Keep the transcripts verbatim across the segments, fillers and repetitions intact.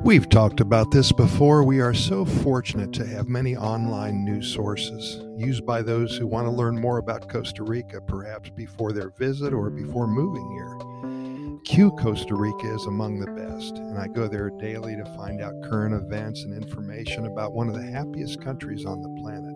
We've talked about this before. We are so fortunate to have many online news sources used by those who want to learn more about Costa Rica, perhaps before their visit or before moving here. Q Costa Rica is among the best, and I go there daily to find out current events and information about one of the happiest countries on the planet.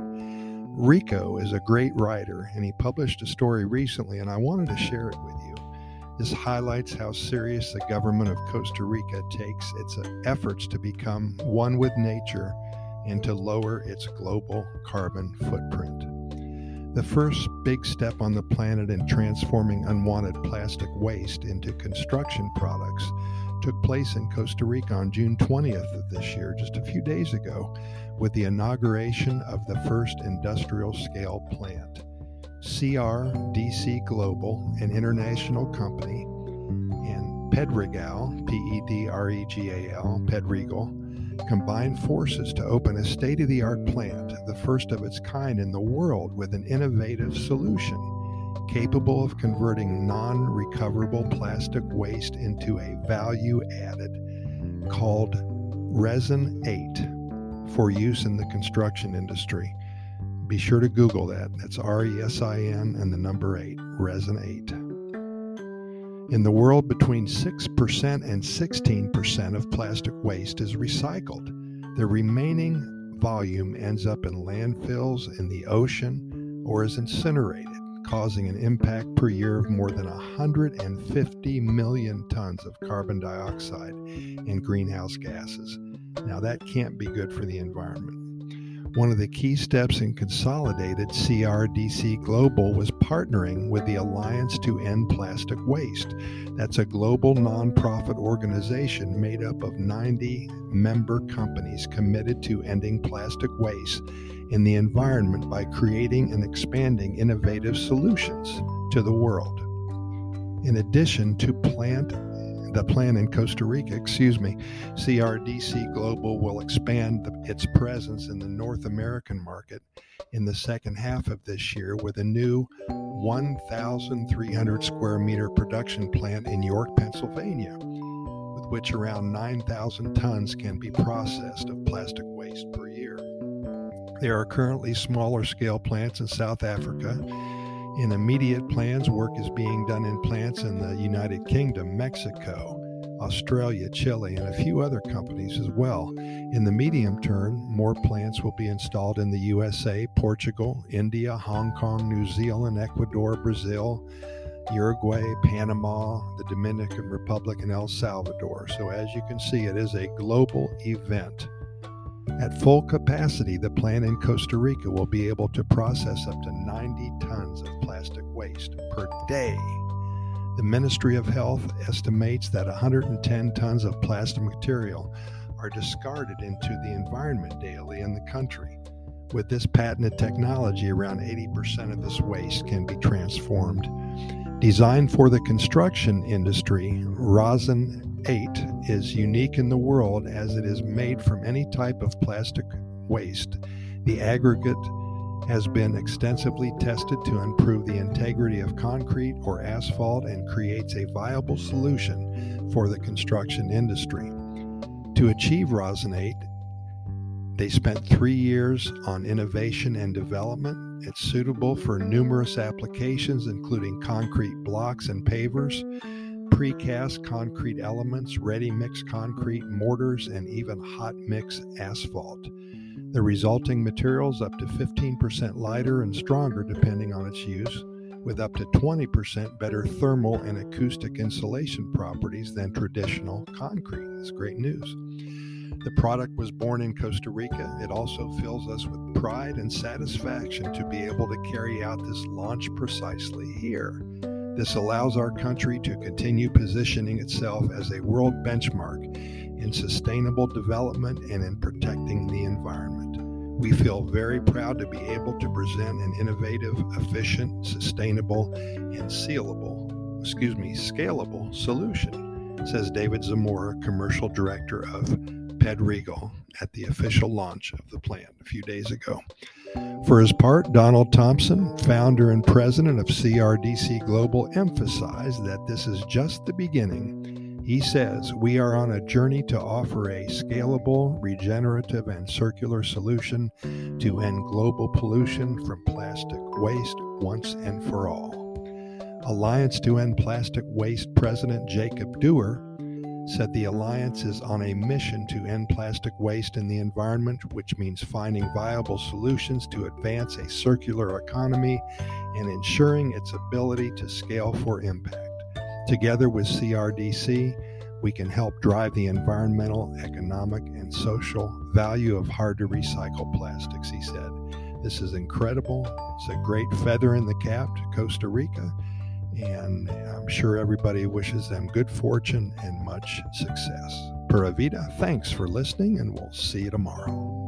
Rico is a great writer, and he published a story recently, and I wanted to share it with you. This highlights how serious the government of Costa Rica takes its efforts to become one with nature and to lower its global carbon footprint. The first big step on the planet in transforming unwanted plastic waste into construction products took place in Costa Rica on June twentieth of this year, just a few days ago, with the inauguration of the first industrial-scale plant. C R D C Global, an international company, and Pedregal, P E D R E G A L, Pedregal, combined forces to open a state-of-the-art plant, the first of its kind in the world, with an innovative solution capable of converting non-recoverable plastic waste into a value added called Resin eight for use in the construction industry. Be sure to Google that. That's R E S I N and the number eight, Resin eight. In the world, between six percent and sixteen percent of plastic waste is recycled. The remaining volume ends up in landfills, in the ocean, or is incinerated, causing an impact per year of more than one hundred fifty million tons of carbon dioxide and greenhouse gases. Now, that can't be good for the environment. One of the key steps in consolidated C R D C Global was partnering with the Alliance to End Plastic Waste. That's a global nonprofit organization made up of ninety member companies committed to ending plastic waste in the environment by creating and expanding innovative solutions to the world. In addition to plant the plan in Costa Rica, excuse me, C R D C Global will expand the, its presence in the North American market in the second half of this year with a new one thousand three hundred square meter production plant in York, Pennsylvania, with which around nine thousand tons can be processed of plastic waste per year. There are currently smaller scale plants in South Africa. In immediate plans, work is being done in plants in the United Kingdom, Mexico, Australia, Chile, and a few other companies as well. In the medium term, more plants will be installed in the U S A, Portugal, India, Hong Kong, New Zealand, Ecuador, Brazil, Uruguay, Panama, the Dominican Republic, and El Salvador. So as you can see, it is a global event. At full capacity, the plant in Costa Rica will be able to process up to ninety tons of plastic waste per day. The Ministry of Health estimates that one hundred ten tons of plastic material are discarded into the environment daily in the country. With this patented technology, around eighty percent of this waste can be transformed. Designed for the construction industry, Resin eight is unique in the world as it is made from any type of plastic waste. The aggregate has been extensively tested to improve the integrity of concrete or asphalt and creates a viable solution for the construction industry. To achieve Resin eight, they spent three years on innovation and development. It's suitable for numerous applications, including concrete blocks and pavers, precast concrete elements, ready-mix concrete, mortars, and even hot-mix asphalt. The resulting material is up to fifteen percent lighter and stronger depending on its use, with up to twenty percent better thermal and acoustic insulation properties than traditional concrete. That's great news. The product was born in Costa Rica. It also fills us with pride and satisfaction to be able to carry out this launch precisely here. This allows our country to continue positioning itself as a world benchmark in sustainable development and in protecting the environment. We feel very proud to be able to present an innovative, efficient, sustainable, and sealable, excuse me, scalable solution, says David Zamora, Commercial Director of Pedregal, at the official launch of the plant a few days ago. For his part, Donald Thompson, founder and president of C R D C Global, emphasized that this is just the beginning He says, we are on a journey to offer a scalable, regenerative, and circular solution to end global pollution from plastic waste once and for all. Alliance to End Plastic Waste President Jacob Dewar said the Alliance is on a mission to end plastic waste in the environment, which means finding viable solutions to advance a circular economy and ensuring its ability to scale for impact. Together with C R D C, we can help drive the environmental, economic, and social value of hard-to-recycle plastics, he said. This is incredible. It's a great feather in the cap to Costa Rica, and I'm sure everybody wishes them good fortune and much success. Pura Vida, thanks for listening, and we'll see you tomorrow.